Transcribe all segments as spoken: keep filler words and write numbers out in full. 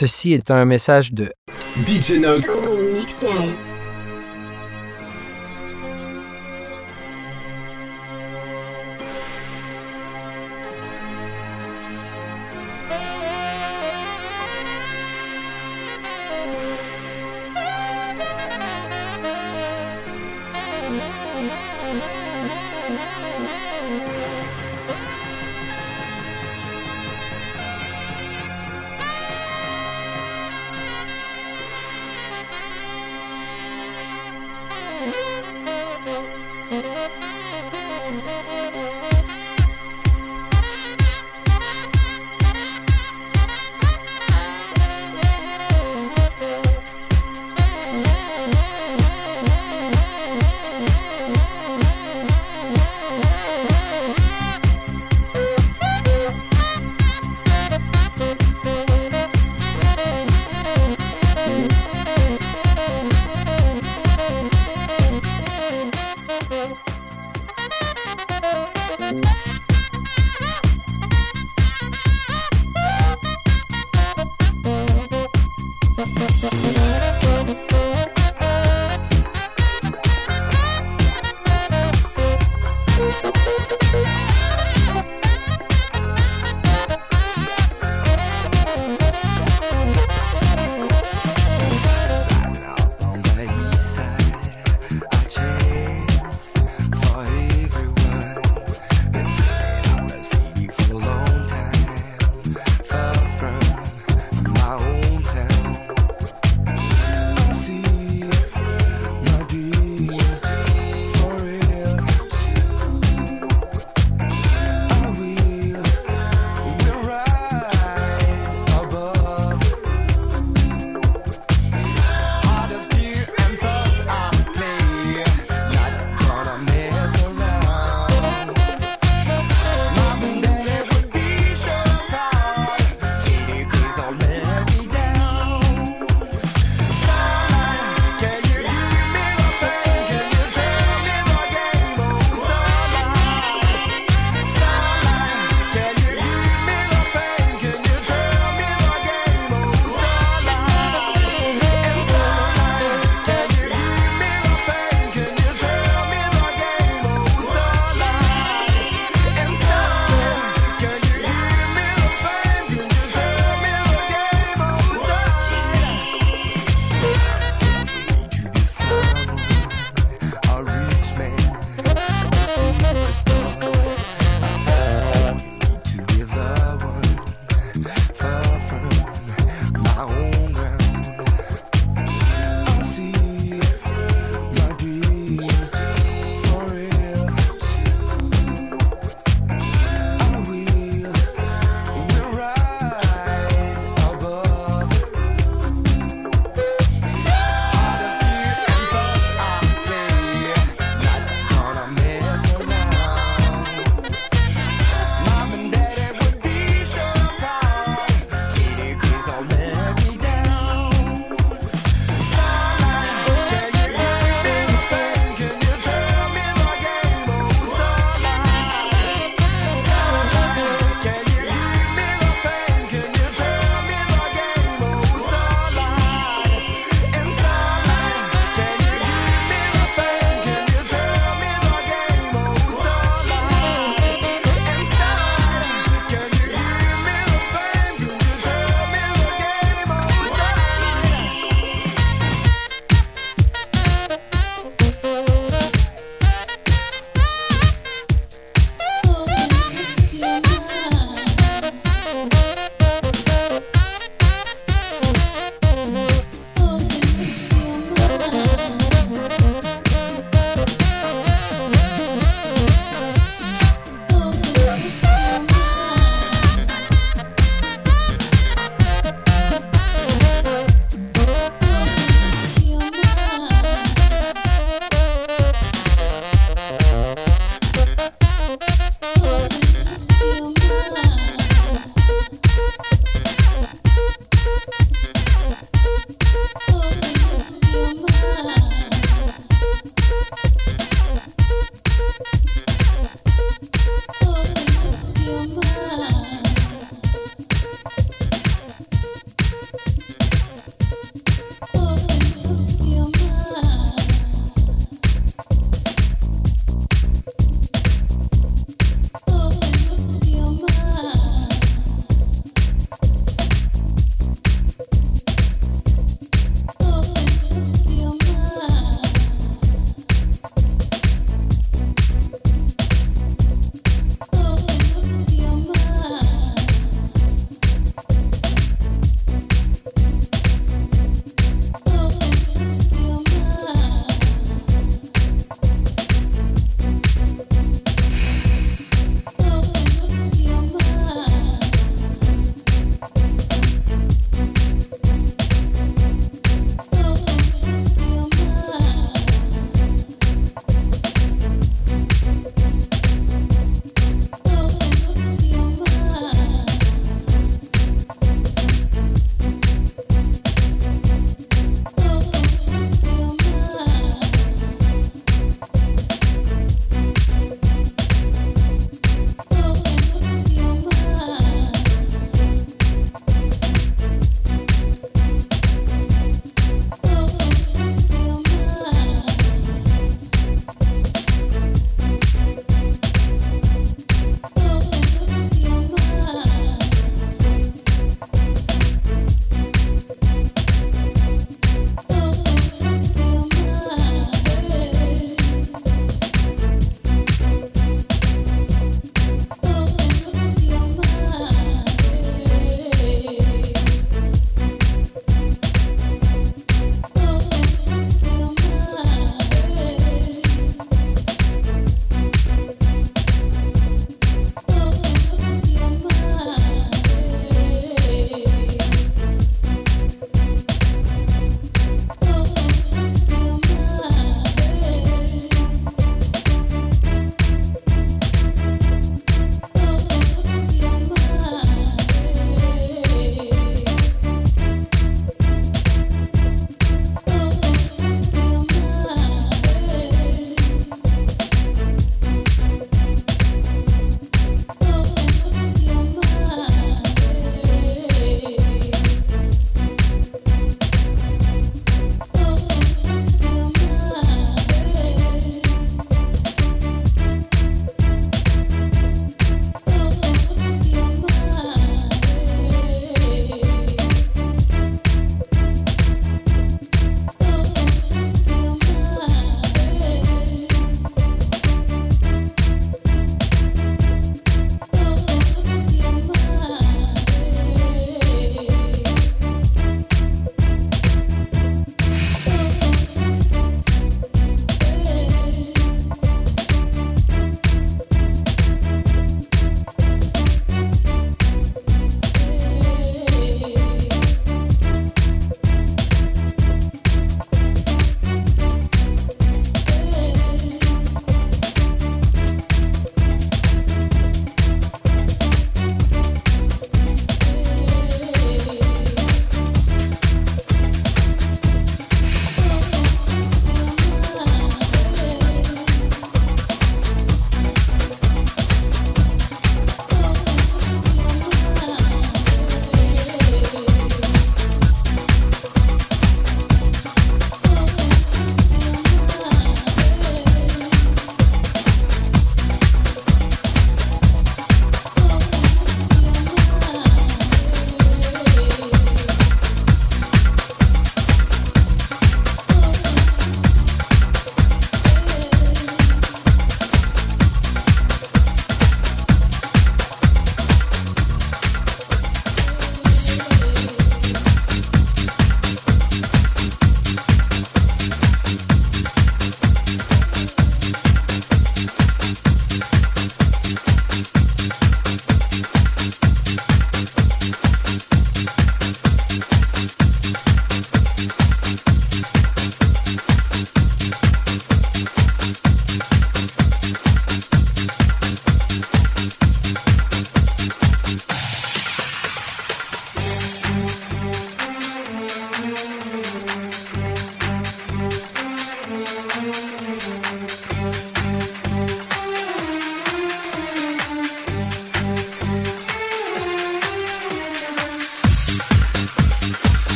Ceci est un message de D J Nox. Mix Night. Down.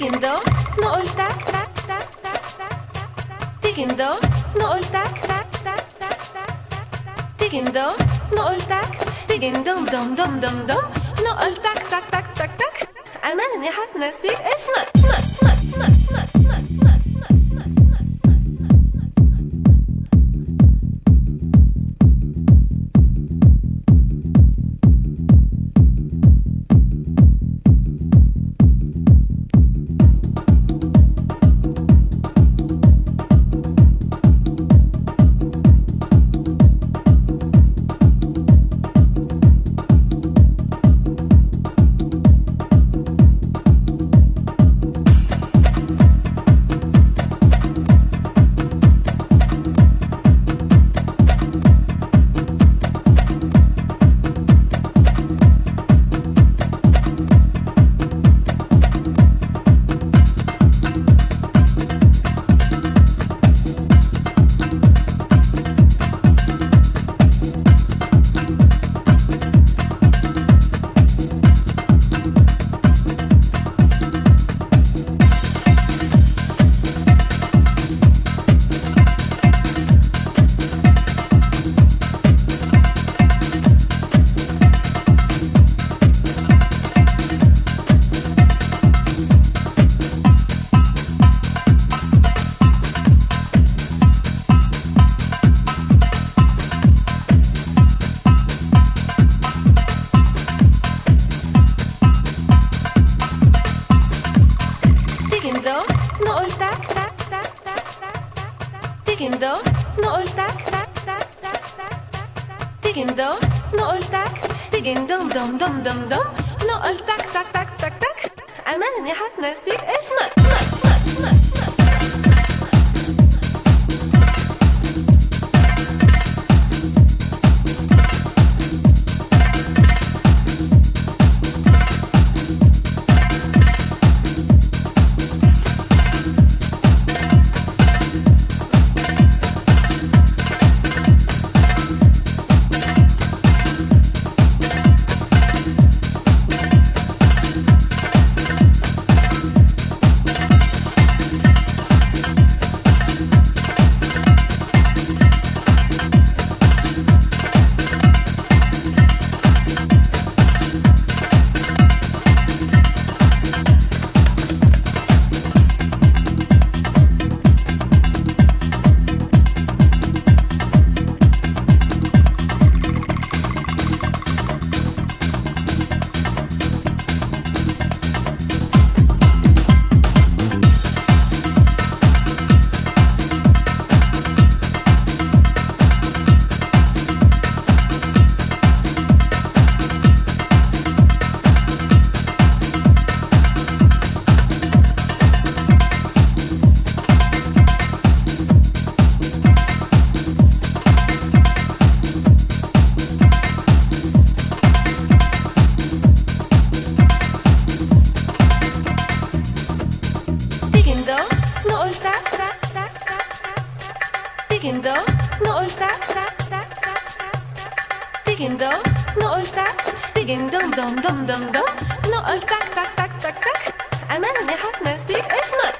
Digging-do, نقول تاك تاك تاك تاك تاك. Digging-do, نقول تاك تاك تاك تاك تاك. Digging-do, نقول تاك. Digging-dum dum dum dum dum. نقول تاك تاك تاك تاك تاك. أماني حتنسيك اسمك. Digging-do, نقول تاك تاك تاك تاك تاك. Digging-do, نقول تاك. Digging-dum dum dum dum dum. نقول تاك تاك تاك تاك تاك. أماني حتنسيك اسمك. Digging-do, نقول تاك تاك تاك تاك. Digging-do, نقول تاك. Digging-dum dum dum dum dum. نقول تاك تاك تاك تاك تاك. أماني حتنسيك اسمك.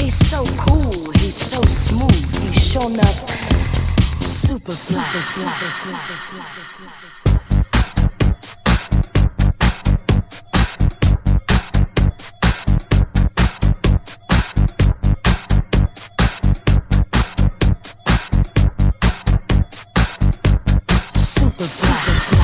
He's so cool, he's so smooth, he's shown up super fly. Super fly. Super fly. Super fly. Super fly.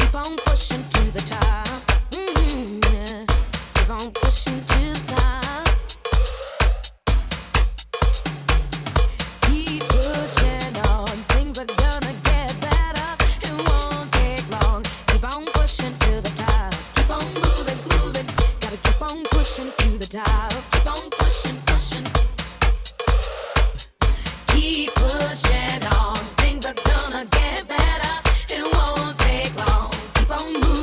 keep on pushing to the top. Mm-hmm, yeah. Keep on pushing to the top. Keep pushing on. Things are gonna get better. It won't take long. Keep on pushing to the top. Keep on moving, moving. Gotta keep on pushing to the top. Keep on pushing, pushing. Keep pushing on. Things are gonna get better. It won't take long. Keep on moving.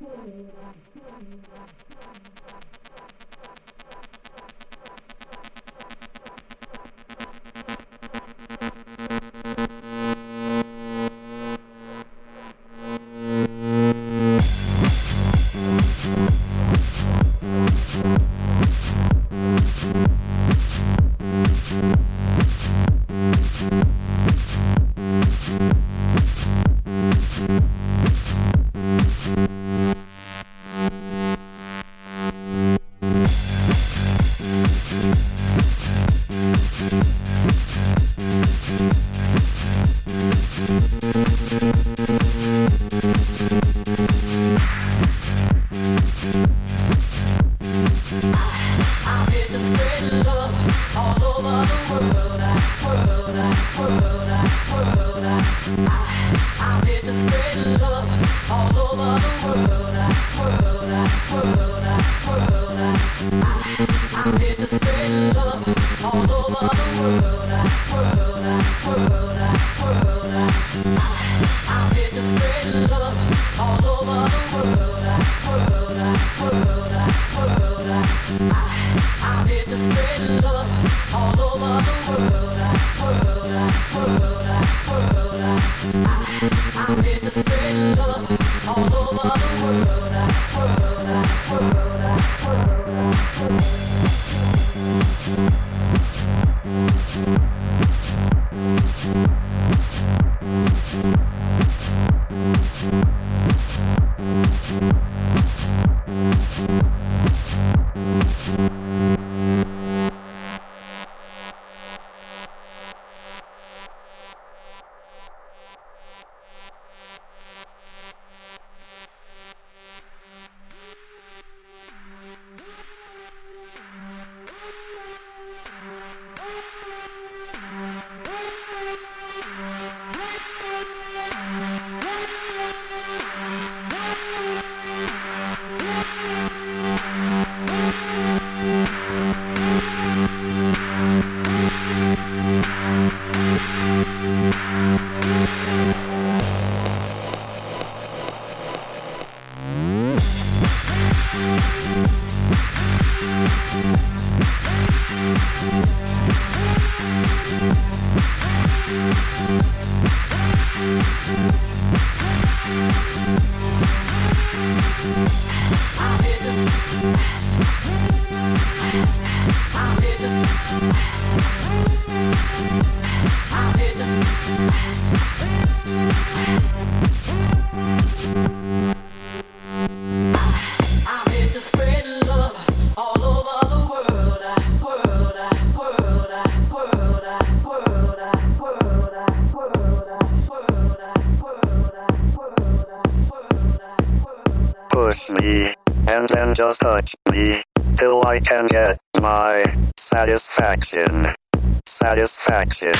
Push me, and then just touch me, till I can get my satisfaction. Satisfaction.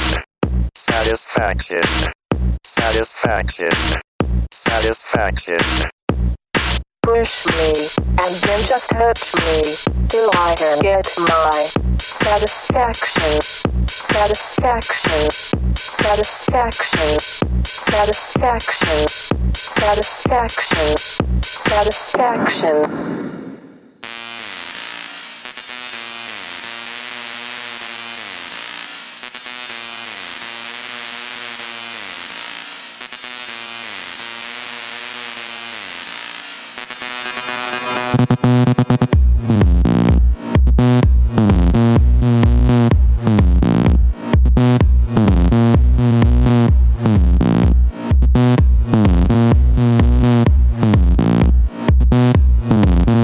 Satisfaction. Satisfaction. Satisfaction. Push me, and then just touch me, till I can get my satisfaction. Satisfaction. Satisfaction. Satisfaction. Satisfaction. Satisfaction. Push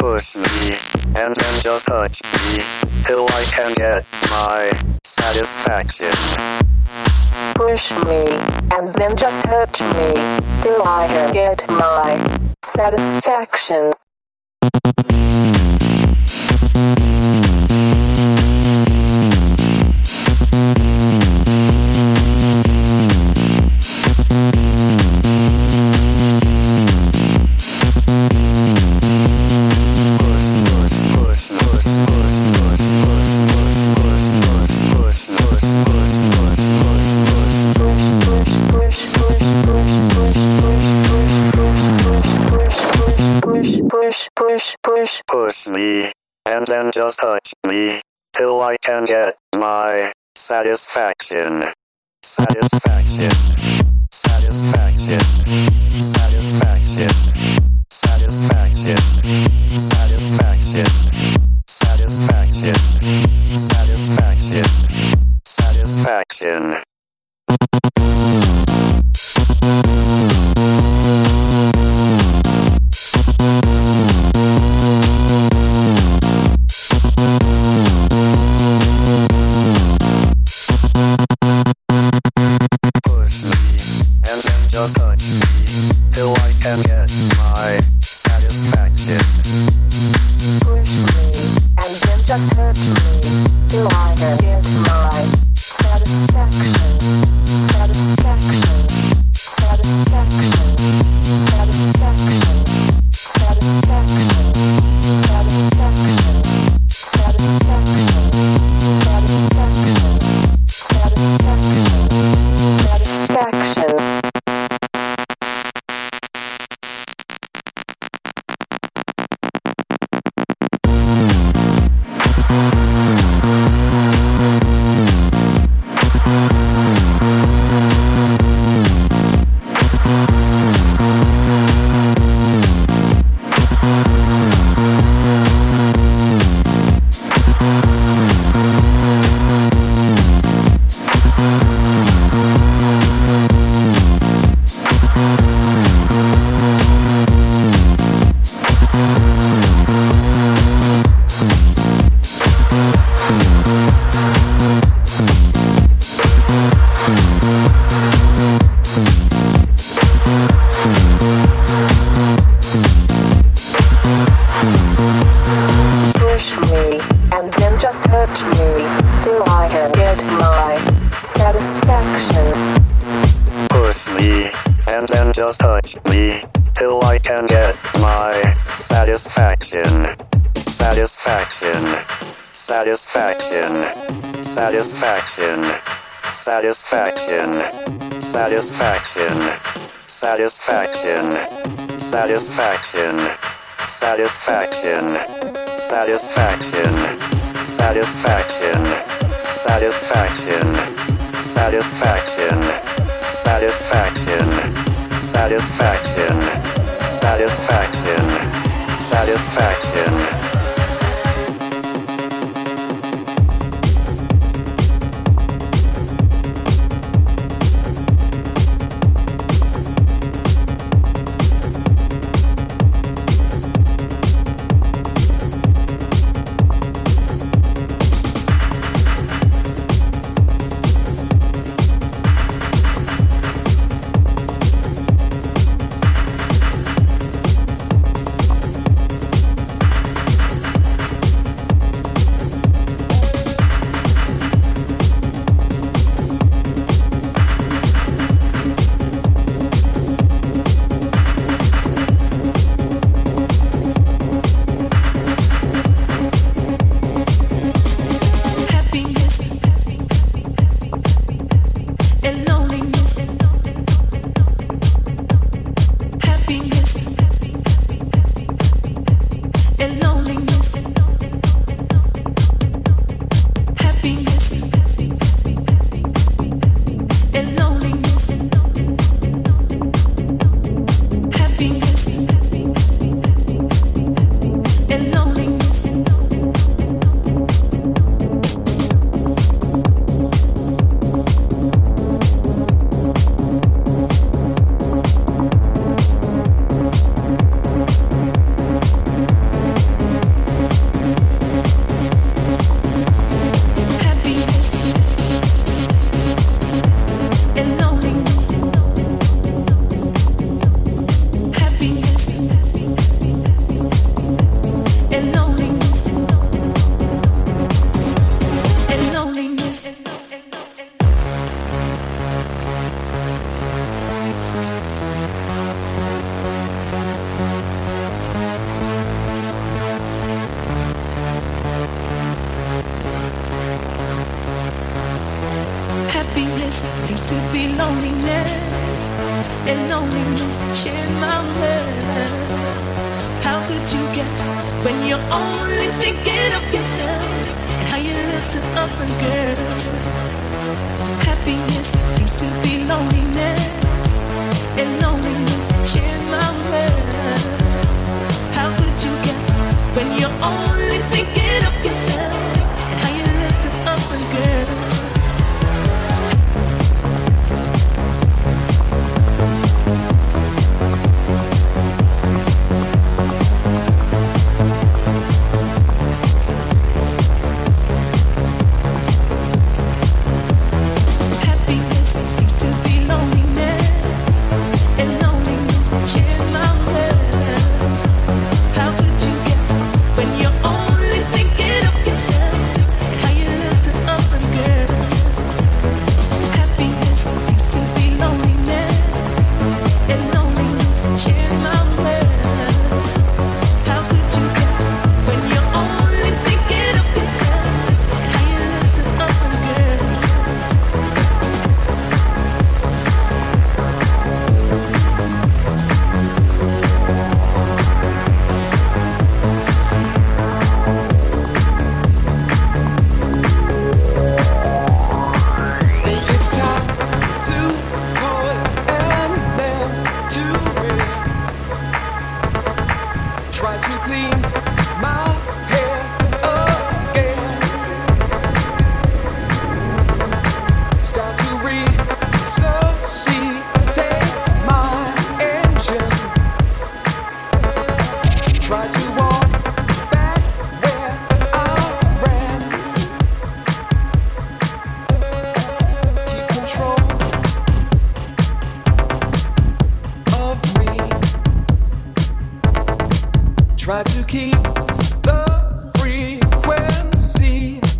push me, and then just touch me, till I can get my satisfaction. Push me, and then just touch me, till I can get my satisfaction. Push me, and then just touch me, till I can get my satisfaction. Satisfaction. Satisfaction. Satisfaction. Satisfaction. Satisfaction. Satisfaction. Satisfaction. Satisfaction. Just touch me, till I can get my satisfaction. Push me, and then just touch me, till I can get my satisfaction. Satisfaction. Satisfaction. Satisfaction. Satisfaction. Satisfaction. Satisfaction. Satisfaction. Satisfaction. Satisfaction. Just touch me, till I can get my satisfaction. Satisfaction. Satisfaction. Satisfaction. Satisfaction. Satisfaction. Satisfaction. Satisfaction. Satisfaction. Satisfaction. Satisfaction. Satisfaction. Satisfaction. Satisfaction. Satisfaction, satisfaction, satisfaction. to be loneliness, and loneliness shared my world. How could you guess when you're only thinking of yourself and how you look to other girls? Happiness seems to be loneliness, and loneliness shared my world. How could you guess when you're only thinking of yourself and how you look to other girls? Try to keep the frequency.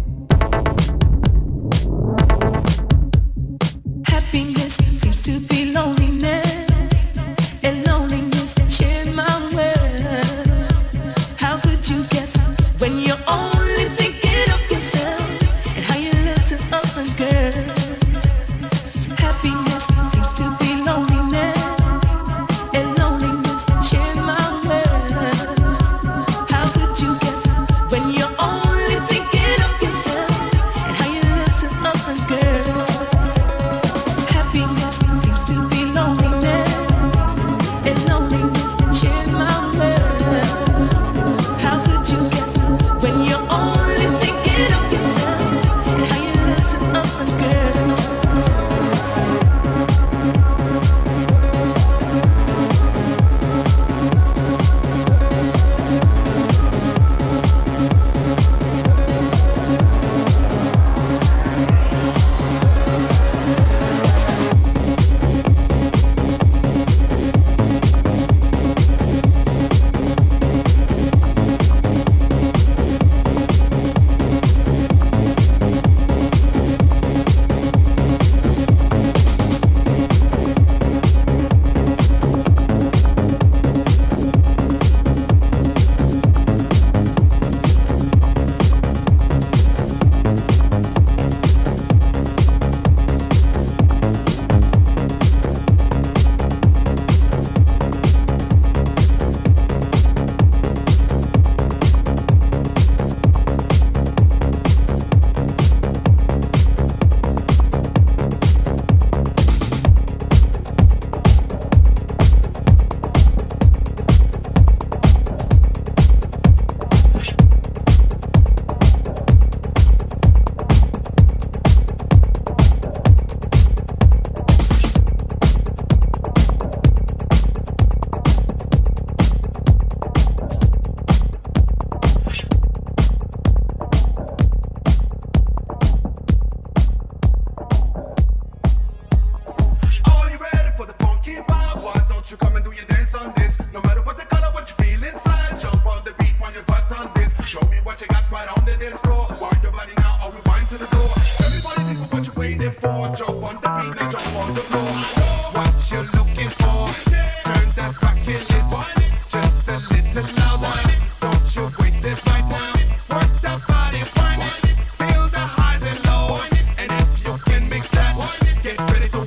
Happiness seems to be loneliness, and loneliness shared my world. How could you guess when you're only thinking of yourself and how you look to other girls? Happiness seems to be loneliness, and loneliness shared my world. How could you guess when you're only thinking of yourself and how you look to other girls? Happiness seems to be loneliness, and loneliness shared my world. How could you guess when you're only thinking of yourself and how you look to other girls? Are you ready for the funky vibe? Why don't you come and do your dance on this? No matter what the color, what you feel inside. Jump on the beat when you butt on this. Show me what you got right on the dance floor. Wind your body now or rewind to the door. Everybody think of what you're waiting for. Jump on the beat now jump on the floor. What you looking for? Turn that back and listen. Just a little louder. Don't you waste it right now. Work that body, wind it. Feel the highs and lows. And if you can mix that, get ready to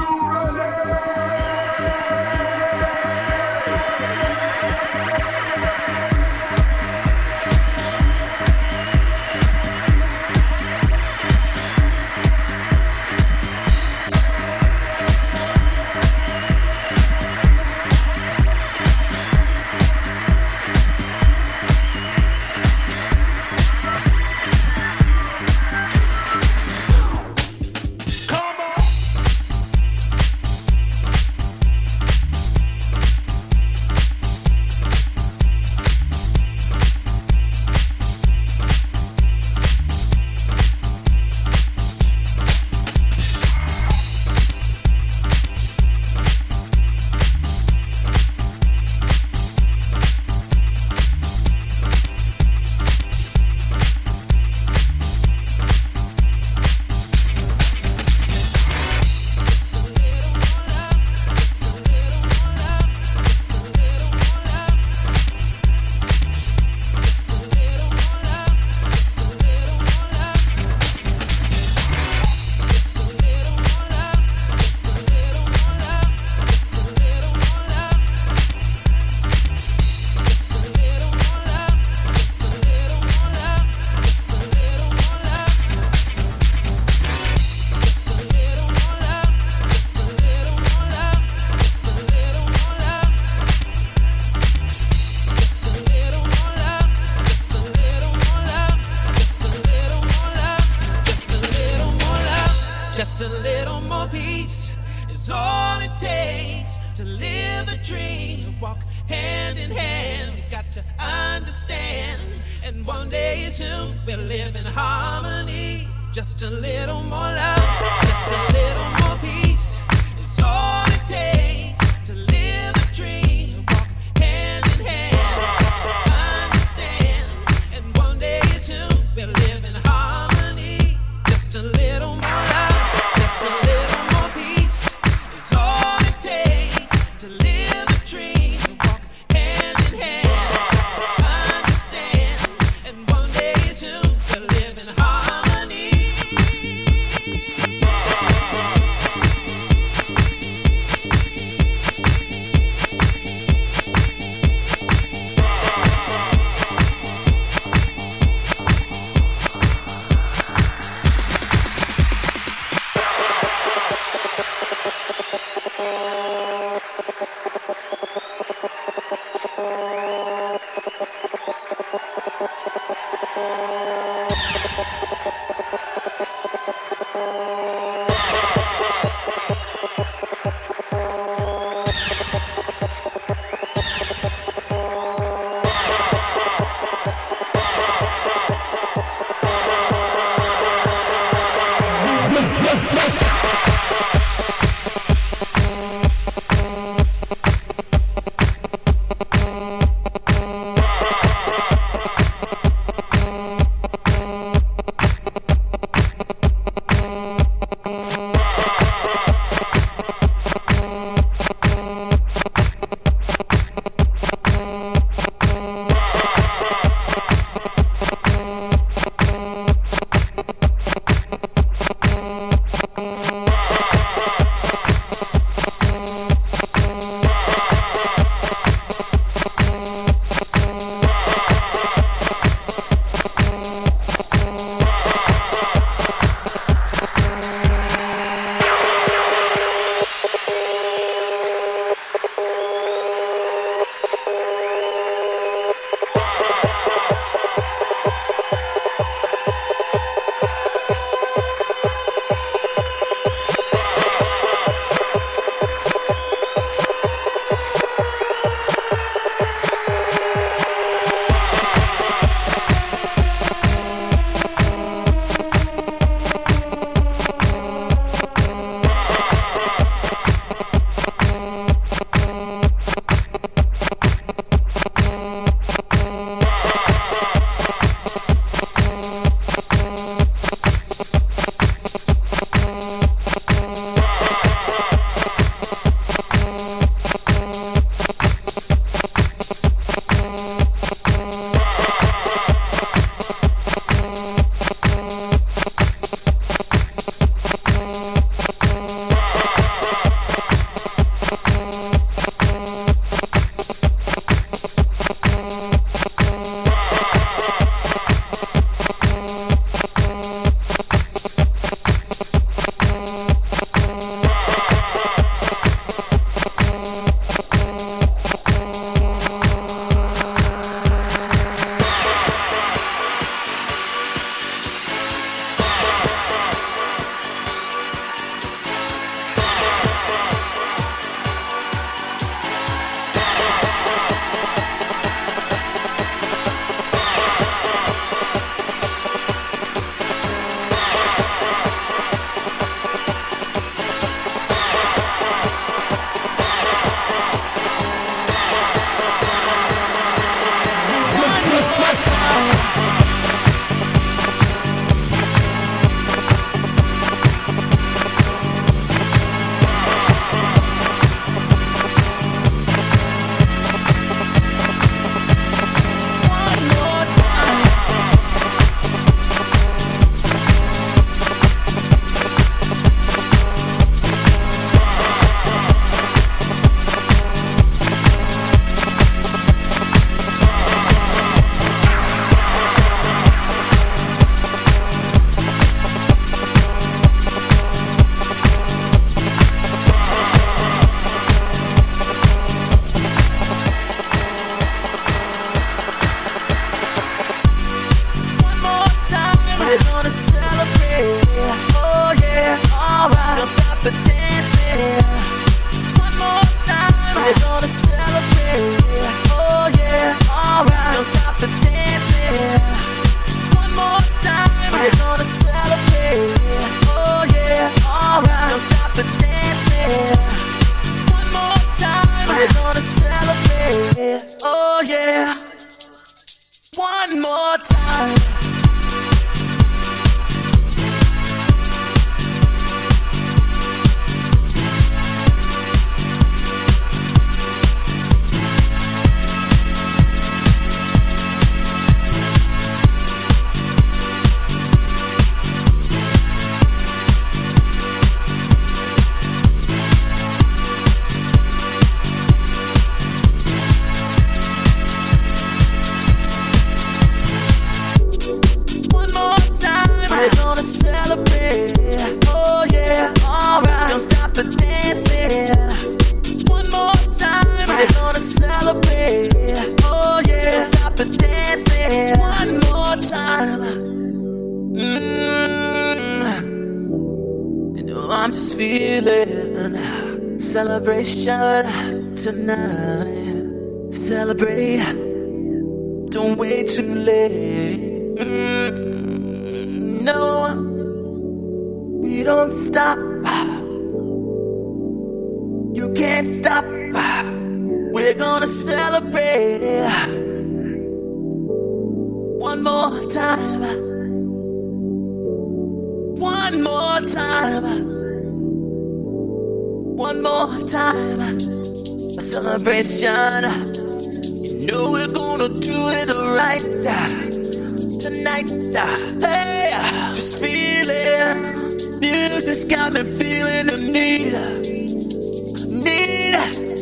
Just a little more peace is all it takes to live a dream, walk hand in hand. You got to understand, and one day soon we'll live in harmony. Just a little more love, just a little more peace is all it takes to live a dream, walk hand in hand. You got to understand, and one day soon we'll live in harmony. Just a little more love. Just a little more peace is all it takes to live a dream, walk hand in hand. To understand, and one day soon we'll live in harmony. One more time. Celebration tonight. Celebrate. Don't wait too late. Mm, no, we don't stop. You can't stop. We're gonna celebrate. One more time. One more time. One more time, a celebration. You know we're gonna do it right tonight. Hey, just feel it. Music's got me feeling the need, need.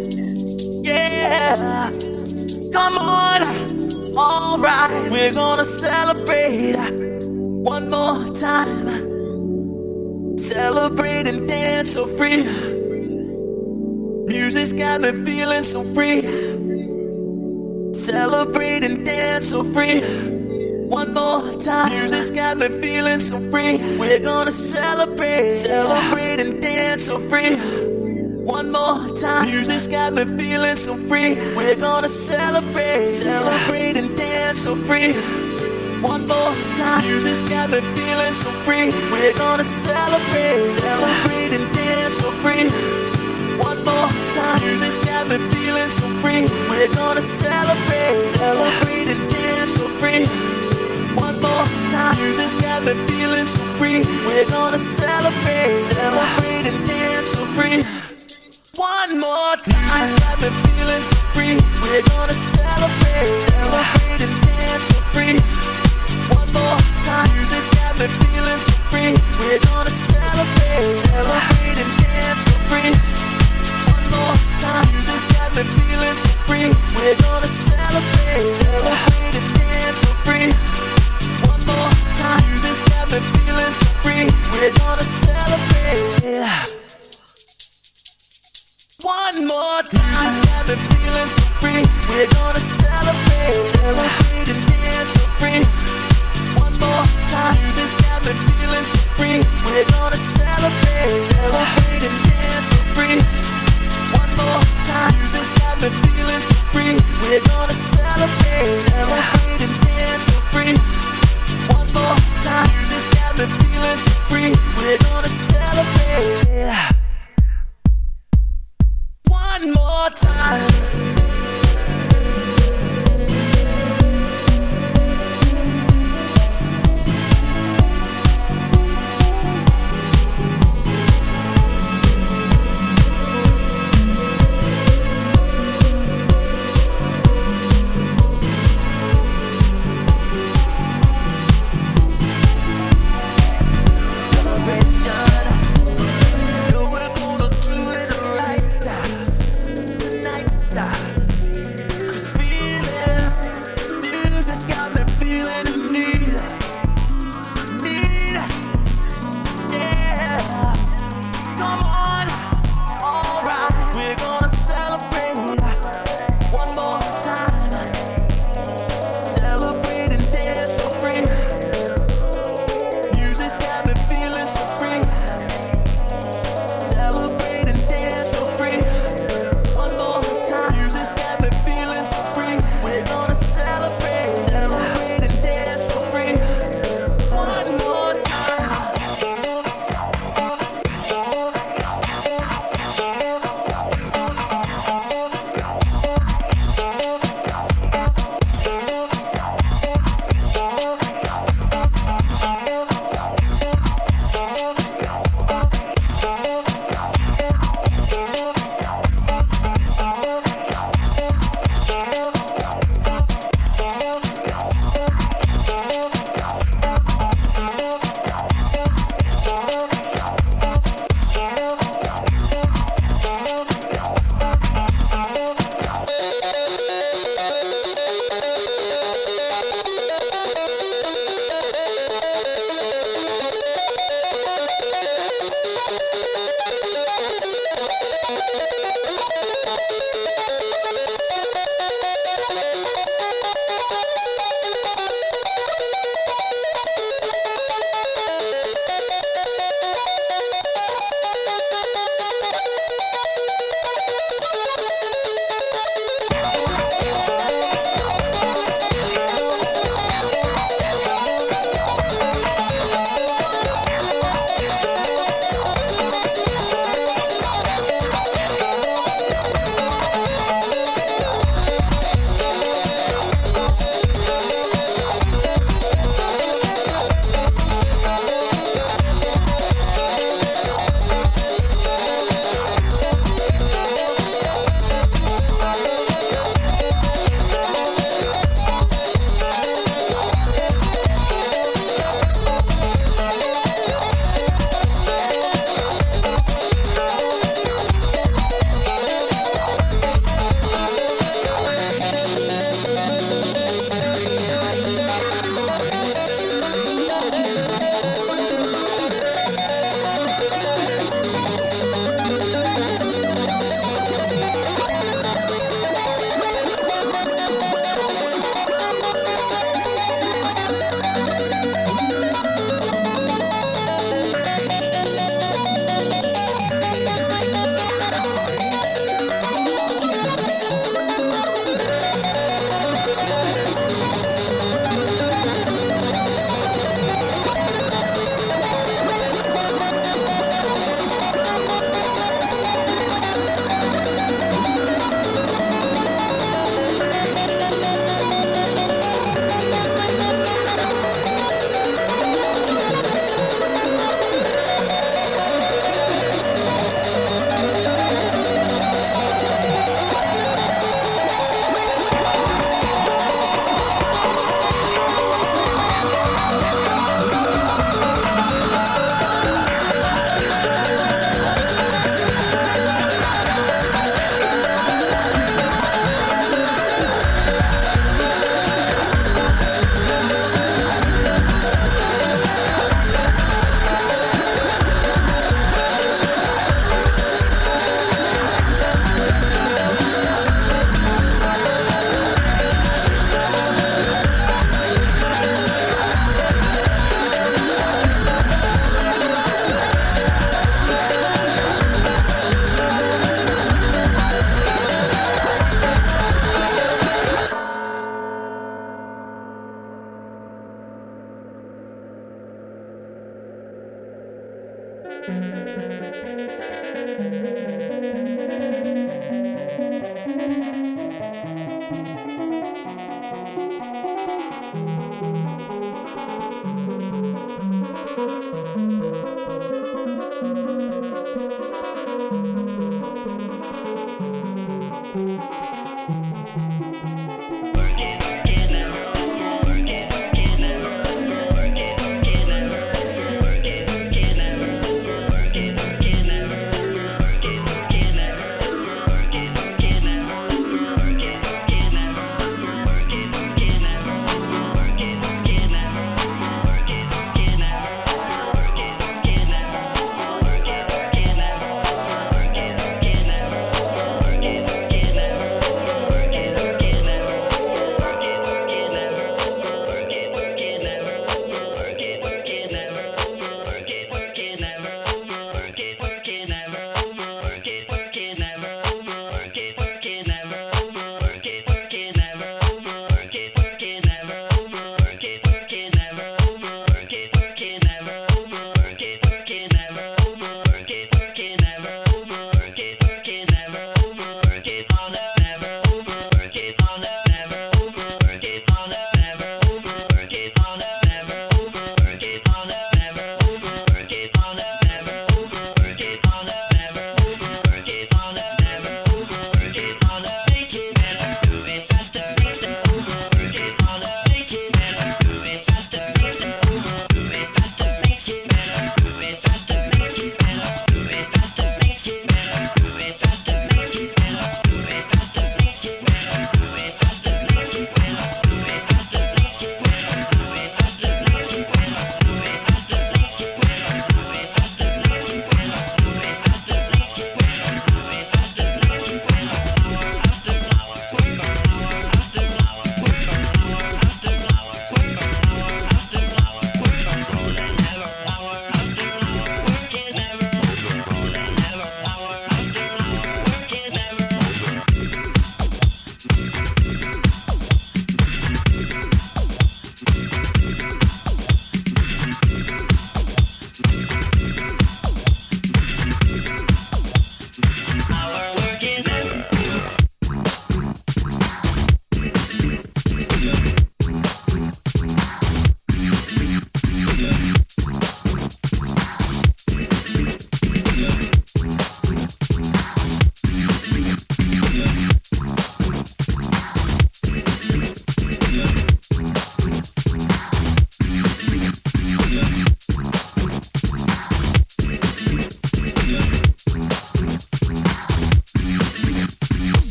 Yeah, come on. All right, we're gonna celebrate one more time. Celebrate and dance so free. Music's got me feeling so free. Celebrate and dance so free. One more time. Music's got me feeling so free. We're gonna celebrate. Celebrate and dance so free. One more time. Music's got me feeling so free. We're gonna celebrate. Celebrate and dance so free. One more time. Music's got me feeling so free. We're gonna celebrate. Celebrate and dance so free. One more time, music's got me feeling so free. We're gonna celebrate, celebrate and dance so free. One more time, music's got me feeling so free. We're gonna celebrate, celebrate and dance so free. One more time, music's got me feeling so free. We're gonna celebrate, celebrate and dance so free. One more time, music's got me feeling so free. We're gonna celebrate, celebrate and dance so free. More time, music's got me feeling so free. We're gonna celebrate, celebrate and dance so free. One more time, music's got me feeling so free. We're gonna celebrate. One more time, music's got me feeling so free. We're gonna celebrate, celebrate and dance so free. One more time, music's got me feeling so free. We're gonna celebrate, celebrate and dance so free. One more time, music's got me feeling so free. We're gonna celebrate, celebrate and dance so free. One more time, music's got me feeling so free. We're gonna celebrate. One more time. Celebration. Know we're gonna do it right tonight.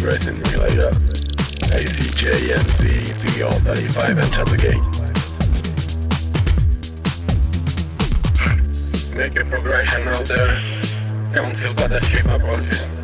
progress in Relator. A C J M C three R thirty-five enter the gate. Make a progression out there. Don't feel bad that shit my approaches.